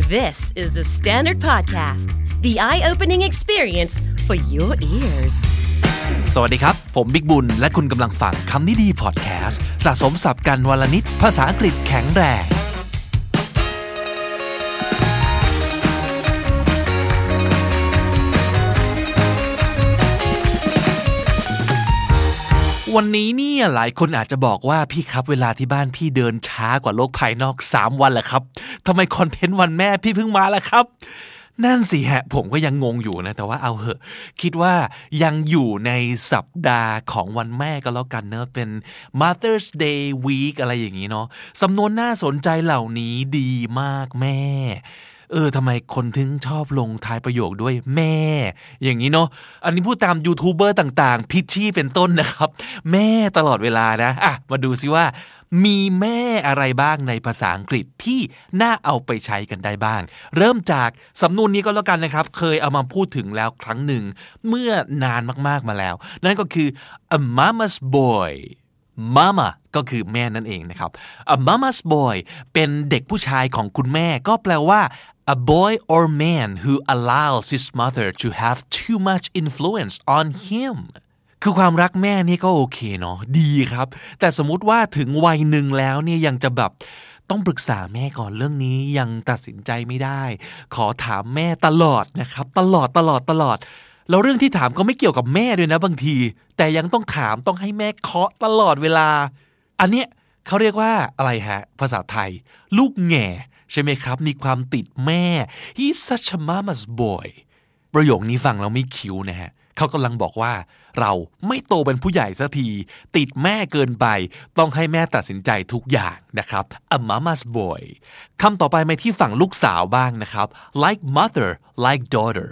This is the Standard Podcast, the eye-opening experience for your ears. สวัสดีครับผมบิ๊กบุญและคุณกำลังฟังคำนี้ดีพอดแคสต์สะสมศัพท์กันวันละนิดภาษาอังกฤษแข็งแรงวันนี้เนี่ยหลายคนอาจจะบอกว่าพี่ครับเวลาที่บ้านพี่เดินช้ากว่าโลกภายนอก3วันแหละครับทำไมคอนเทนต์วันแม่พี่เพิ่งมาล่ะครับนั่นสิฮะผมก็ยังงงอยู่นะแต่ว่าเอาเหอะคิดว่ายังอยู่ในสัปดาห์ของวันแม่ก็แล้วกันเนอะเป็น Mother's Day Week อะไรอย่างนี้เนาะสำนวนน่าสนใจเหล่านี้ดีมากแม่ทำไมคนถึงชอบลงท้ายประโยคด้วยแม่อย่างนี้เนาะอันนี้พูดตามยูทูบเบอร์ต่างๆพิชชี่เป็นต้นนะครับแม่ตลอดเวลานะมาดูซิว่ามีแม่อะไรบ้างในภาษาอังกฤษที่น่าเอาไปใช้กันได้บ้างเริ่มจากสำนวนนี้ก็แล้วกันนะครับเคยเอามาพูดถึงแล้วครั้งหนึ่งเมื่อนานมากๆมาแล้วนั่นก็คือ a mama's boy mama ก็คือแม่นั่นเองนะครับ a mama's boy เป็นเด็กผู้ชายของคุณแม่ก็แปลว่า a boy or man who allows his mother to have too much influence on himคือความรักแม่นี่ก็โอเคเนาะดีครับแต่สมมุติว่าถึงวัยหนึ่งแล้วเนี่ยยังจะแบบต้องปรึกษาแม่ก่อนเรื่องนี้ยังตัดสินใจไม่ได้ขอถามแม่ตลอดนะครับตลอดแล้วเรื่องที่ถามก็ไม่เกี่ยวกับแม่ด้วยนะบางทีแต่ยังต้องถามต้องให้แม่เคาะตลอดเวลาอันเนี้ยเขาเรียกว่าอะไรฮะภาษาไทยลูกแง่ใช่ไหมครับมีความติดแม่ He's such a mama's boy ประโยคนี้ฟังแล้วไม่คิ้วนะฮะเขากำลังบอกว่าเราไม่โตเป็นผู้ใหญ่สักทีติดแม่เกินไปต้องให้แม่ตัดสินใจทุกอย่างนะครับ a mama's boy คำต่อไปมาที่ฝั่งลูกสาวบ้างนะครับ like mother like daughter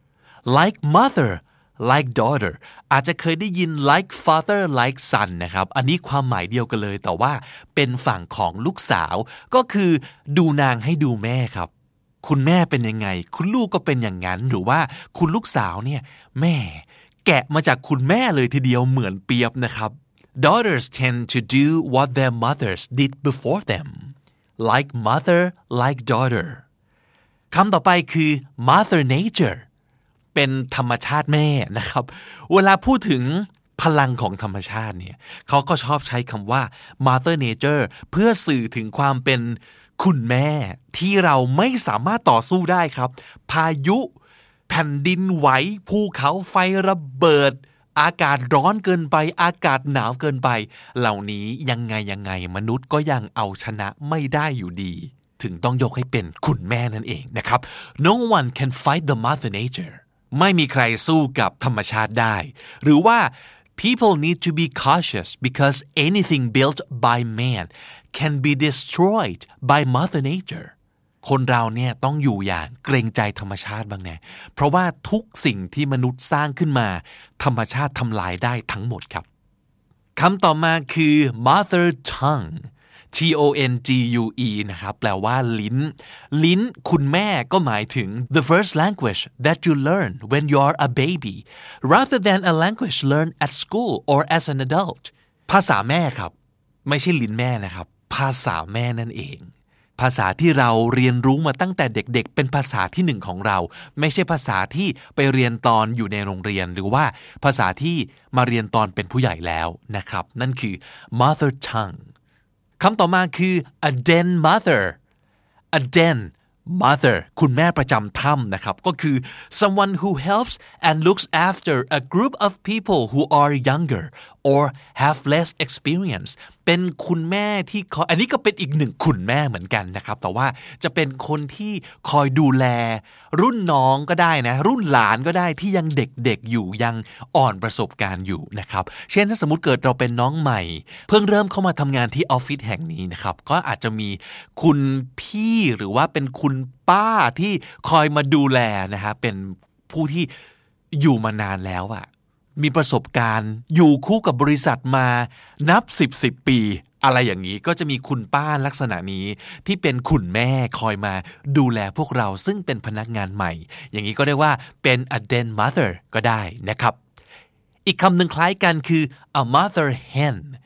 like mother like daughter อาจจะเคยได้ยิน like father like son นะครับอันนี้ความหมายเดียวกันเลยแต่ว่าเป็นฝั่งของลูกสาวก็คือดูนางให้ดูแม่ครับคุณแม่เป็นยังไงคุณลูกก็เป็นอย่างนั้นหรือว่าคุณลูกสาวเนี่ยแม่แกะมาจากคุณแม่เลยทีเดียวเหมือนเปียบนะครับ Daughters tend to do what their mothers did before them like mother like daughter คำต่อไปคือ mother nature เป็นธรรมชาติแม่นะครับเวลาพูดถึงพลังของธรรมชาติเนี่ยเขาก็ชอบใช้คำว่า mother nature เพื่อสื่อถึงความเป็นคุณแม่ที่เราไม่สามารถต่อสู้ได้ครับพายุแผ่นดินไหวภูเขาไฟระเบิดอากาศร้อนเกินไปอากาศหนาวเกินไปเหล่านี้ยังไงมนุษย์ก็ยังเอาชนะไม่ได้อยู่ดีถึงต้องยกให้เป็นคุณแม่นั่นเองนะครับ No one can fight the mother nature ไม่มีใครสู้กับธรรมชาติได้หรือว่า People need to be cautious because anything built by man can be destroyed by mother natureคนเราเนี่ยต้องอยู่อย่างเกรงใจธรรมชาติบ้างนะเพราะว่าทุกสิ่งที่มนุษย์สร้างขึ้นมาธรรมชาติทำลายได้ทั้งหมดครับคำต่อมาคือ mother tongue tongue นะครับแปลว่าลิ้นคุณแม่ก็หมายถึง the first language that you learn when you're a baby rather than a language learned at school or as an adult ภาษาแม่ครับไม่ใช่ลิ้นแม่นะครับภาษาแม่นั่นเองภาษาที่เราเรียนรู้มาตั้งแต่เด็กๆเป็นภาษาที่หนึ่งของเราไม่ใช่ภาษาที่ไปเรียนตอนอยู่ในโรงเรียนหรือว่าภาษาที่มาเรียนตอนเป็นผู้ใหญ่แล้วนะครับนั่นคือ mother tongue คำต่อมาคือ a den mother a den mother คุณแม่ประจำถ้ำนะครับก็คือ someone who helps and looks after a group of people who are younger or have less experience เป็นคุณแม่ที่อันนี้ก็เป็นอีกหนึ่งคุณแม่เหมือนกันนะครับแต่ว่าจะเป็นคนที่คอยดูแลรุ่นน้องก็ได้นะรุ่นหลานก็ได้ที่ยังเด็กๆอยู่ยังอ่อนประสบการณ์อยู่นะครับเช่นถ้าสมมุติเกิดเราเป็นน้องใหม่เพิ่งเริ่มเข้ามาทำงานที่ออฟฟิศแห่งนี้นะครับก็อาจจะมีคุณพี่หรือว่าเป็นคุณป้าที่คอยมาดูแลนะฮะเป็นผู้ที่อยู่มานานแล้วอะมีประสบการณ์อยู่คู่กับบริษัทมานับ10 ปีอะไรอย่างนี้ก็จะมีคุณป้าลักษณะนี้ที่เป็นคุณแม่คอยมาดูแลพวกเราซึ่งเป็นพนักงานใหม่อย่างนี้ก็เรียกว่าเป็น a den mother ก็ได้นะครับอีกคำหนึ่งคล้ายกันคือ a mother hen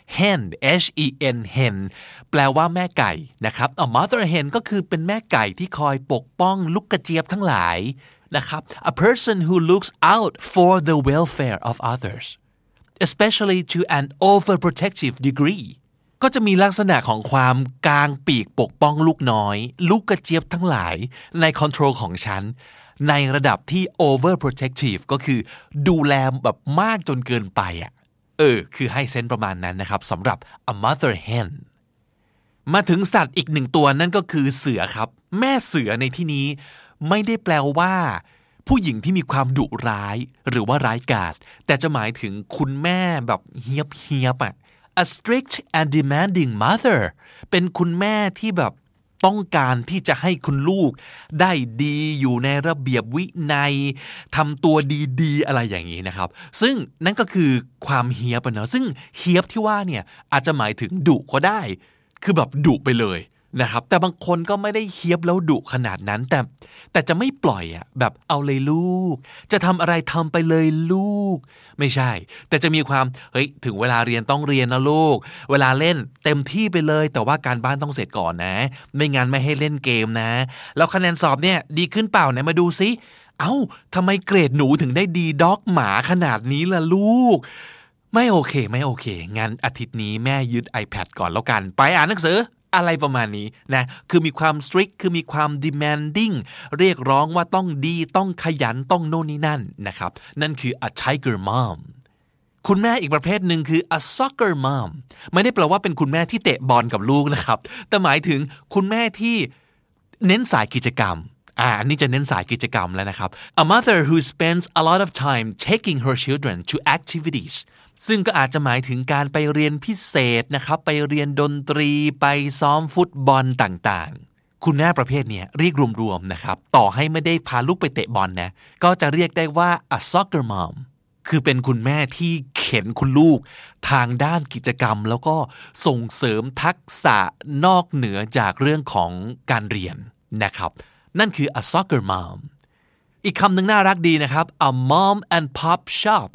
hen hen hen แปลว่าแม่ไก่นะครับ a mother hen ก็คือเป็นแม่ไก่ที่คอยปกป้องลูกกระเจี๊ยบทั้งหลายนะครับ a person who looks out for the welfare of others especially to an overprotective degree ก็จะมีลักษณะของความกางปีกปกป้องลูกน้อยลูกกระเจี๊ยบทั้งหลายในคอนโทรลของฉันในระดับที่ overprotective ก็คือดูแลแบบมากจนเกินไปคือให้เซนส์ประมาณนั้นนะครับสำหรับ a mother hen มาถึงสัตว์อีกหนึ่งตัวนั่นก็คือเสือครับแม่เสือในที่นี้ไม่ได้แปลว่าผู้หญิงที่มีความดุร้ายหรือว่าร้ายกาจแต่จะหมายถึงคุณแม่แบบเฮียบa strict and demanding mother เป็นคุณแม่ที่แบบต้องการที่จะให้คุณลูกได้ดีอยู่ในระเบียบวินัยทำตัวดีๆอะไรอย่างนี้นะครับซึ่งนั่นก็คือความเฮียบนะซึ่งเฮียบที่ว่าเนี่ยอาจจะหมายถึงดุก็ได้คือแบบดุไปเลยนะครับแต่บางคนก็ไม่ได้เฮียบแล้วดุขนาดนั้นแต่จะไม่ปล่อยแบบเอาเลยลูกจะทำอะไรทำไปเลยลูกไม่ใช่แต่จะมีความถึงเวลาเรียนต้องเรียนนะลูกเวลาเล่นเต็มที่ไปเลยแต่ว่าการบ้านต้องเสร็จก่อนนะไม่งั้นไม่ให้เล่นเกมนะแล้วคะแนนสอบเนี่ยดีขึ้นเปล่าไหนมาดูซิทำไมเกรดหนูถึงได้ดีด็อกหมาขนาดนี้ล่ะลูกไม่โอเคงั้นอาทิตย์นี้แม่ยึด iPad ก่อนแล้วกันไปอ่านหนังสืออะไรประมาณนี้นะคือมีความ strict คือมีความ demanding เรียกร้องว่าต้องดีต้องขยันต้องโน่นนี่นั่นนะครับนั่นคือ a tiger mom คุณแม่อีกประเภทหนึ่งคือ a soccer mom ไม่ได้แปลว่าเป็นคุณแม่ที่เตะบอลกับลูกนะครับแต่หมายถึงคุณแม่ที่เน้นสายกิจกรรมอันนี้จะเน้นสายกิจกรรมแล้วนะครับ a mother who spends a lot of time taking her children to activitiesซึ่งก็อาจจะหมายถึงการไปเรียนพิเศษนะครับไปเรียนดนตรีไปซ้อมฟุตบอลต่างๆคุณแม่ประเภทนี้เรียกรวมๆนะครับต่อให้ไม่ได้พาลูกไปเตะบอลนะก็จะเรียกได้ว่า a soccer mom คือเป็นคุณแม่ที่เข็นคุณลูกทางด้านกิจกรรมแล้วก็ส่งเสริมทักษะนอกเหนือจากเรื่องของการเรียนนะครับนั่นคือ a soccer mom อีกคำหนึ่งน่ารักดีนะครับ a mom and pop shop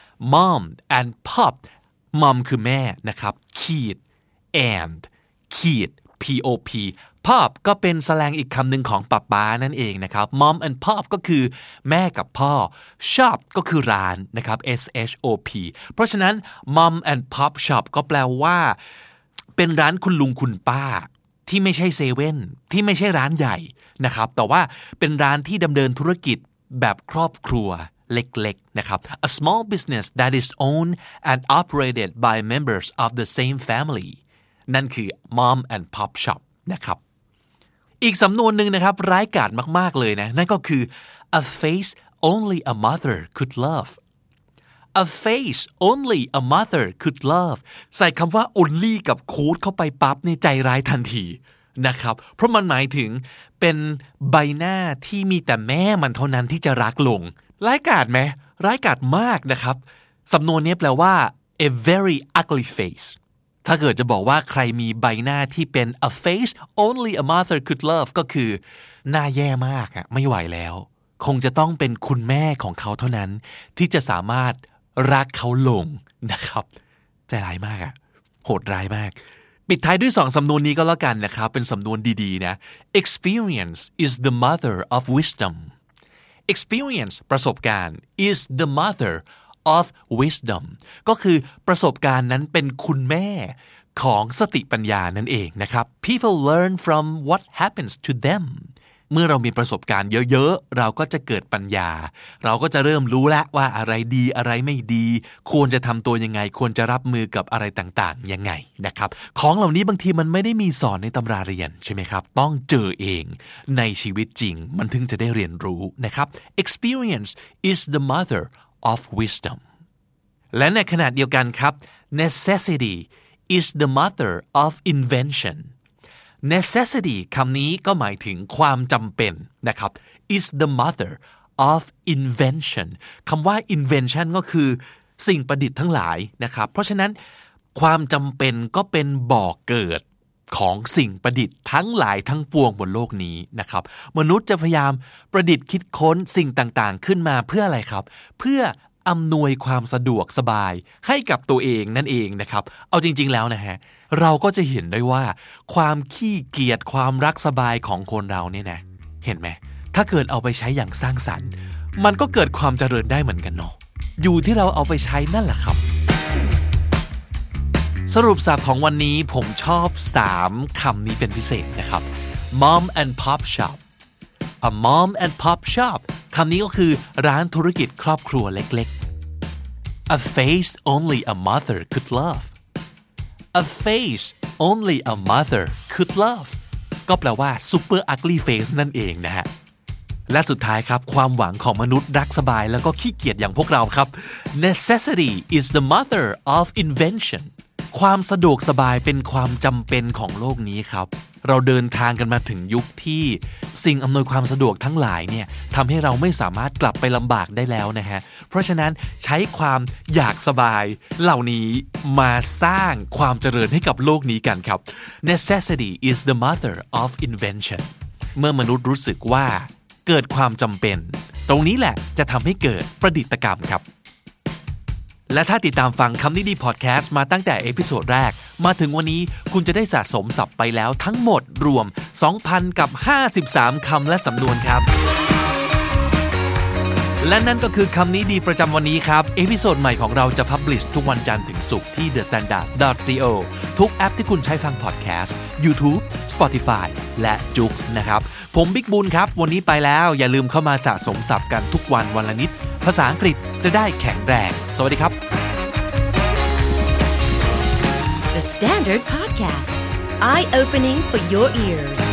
mom and pop mom คือแม่นะครับขีด and ขีด pop pop ก็เป็นสแลงอีกคำหนึ่งของป๊านั่นเองนะครับ mom and pop ก็คือแม่กับพ่อ shop ก็คือร้านนะครับ shop เพราะฉะนั้น mom and pop shop ก็แปลว่าเป็นร้านคุณลุงคุณป้าที่ไม่ใช่เซเว่นที่ไม่ใช่ร้านใหญ่นะครับแต่ว่าเป็นร้านที่ดำเนินธุรกิจแบบครอบครัวเล็กๆนะครับ a small business that is owned and operated by members of the same family นั่นคือ mom and pop shop นะครับอีกสำนวนหนึ่งนะครับร้ายกาจมากๆเลยนะนั่นก็คือ a face only a mother could love a face only a mother could love ใส่คำว่า only กับ could เข้าไปปั๊บนี่ใจร้ายทันทีนะครับเพราะมันหมายถึงเป็นใบหน้าที่มีแต่แม่มันเท่านั้นที่จะรักลงร้ายกาจไหมร้ายกาจมากนะครับสำนวนนี้แปลว่า a very ugly face ถ้าเกิดจะบอกว่าใครมีใบหน้าที่เป็น a face only a mother could love ก็คือหน้าแย่มากไม่ไหวแล้วคงจะต้องเป็นคุณแม่ของเขาเท่านั้นที่จะสามารถรักเขาลงนะครับใจร้ายมากโหดร้ายมากปิดท้ายด้วย2สำนวนนี้ก็แล้วกันนะครับเป็นสำนวนดีๆนะ experience is the mother of wisdom experience ประสบการณ์ is the mother of wisdom ก็คือประสบการณ์นั้นเป็นคุณแม่ของสติปัญญานั่นเองนะครับ people learn from what happens to them เมื่อเรามีประสบการณ์เยอะๆเราก็จะเกิดปัญญาเราก็จะเริ่มรู้แล้วว่าอะไรดีอะไรไม่ดีควรจะทำตัวยังไงควรจะรับมือกับอะไรต่างๆยังไงนะครับของเหล่านี้บางทีมันไม่ได้มีสอนในตำราเรียนใช่ไหมครับต้องเจอเองในชีวิตจริงมันถึงจะได้เรียนรู้นะครับ experience is the mother of wisdom และในขณะเดียวกันครับ necessity is the mother of invention necessity คำนี้ก็หมายถึงความจำเป็นนะครับ is the mother of invention คำว่า invention ก็คือสิ่งประดิษฐ์ทั้งหลายนะครับเพราะฉะนั้นความจำเป็นก็เป็นบ่อเกิดของสิ่งประดิษฐ์ทั้งหลายทั้งปวงบนโลกนี้นะครับมนุษย์จะพยายามประดิษฐ์คิดค้นสิ่งต่างๆขึ้นมาเพื่ออะไรครับเพื่ออำนวยความสะดวกสบายให้กับตัวเองนั่นเองนะครับเอาจริงๆแล้วนะฮะเราก็จะเห็นได้ว่าความขี้เกียจความรักสบายของคนเราเนี่ยนะเห็นไหมถ้าเกิดเอาไปใช้อย่างสร้างสรรค์มันก็เกิดความเจริญได้เหมือนกันเนาะอยู่ที่เราเอาไปใช้นั่นแหละครับสรุปศัพท์ของวันนี้ผมชอบ3คำนี้เป็นพิเศษนะครับ Mom and Pop Shop A mom and pop shop คำนี้ก็คือร้านธุรกิจครอบครัวเล็กๆ A face only a mother could love A face only a mother could love ก็แปลว่า super ugly face นั่นเองนะฮะและสุดท้ายครับความหวังของมนุษย์รักสบายแล้วก็ขี้เกียจอย่างพวกเราครับ Necessity is the mother of invention ความสะดวกสบายเป็นความจำเป็นของโลกนี้ครับเราเดินทางกันมาถึงยุคที่สิ่งอำนวยความสะดวกทั้งหลายเนี่ยทำให้เราไม่สามารถกลับไปลำบากได้แล้วนะฮะเพราะฉะนั้นใช้ความอยากสบายเหล่านี้มาสร้างความเจริญให้กับโลกนี้กันครับ Necessity is the mother of invention เมื่อมนุษย์รู้สึกว่าเกิดความจำเป็นตรงนี้แหละจะทำให้เกิดประดิษฐกรรมครับและถ้าติดตามฟังคำนี้ดีพอดแคสต์มาตั้งแต่เอพิโซดแรกมาถึงวันนี้คุณจะได้สะสมศัพท์ไปแล้วทั้งหมดรวม 2,053 คำและสำนวนครับและนั่นก็คือคำนี้ดีประจำวันนี้ครับเอพิโซดใหม่ของเราจะพับลิชทุกวันจันทร์ถึงศุกร์ที่ thestandard.co ทุกแอปที่คุณใช้ฟังพอดแคสต์ YouTube Spotify และ Joox นะครับผมบิ๊กบุญครับวันนี้ไปแล้วอย่าลืมเข้ามาสะสมศัพท์กันทุกวันวันละนิดภาษาอังกฤษจะได้แข็งแรงสวัสดีครับ The Standard Podcast Eye Opening for Your Ears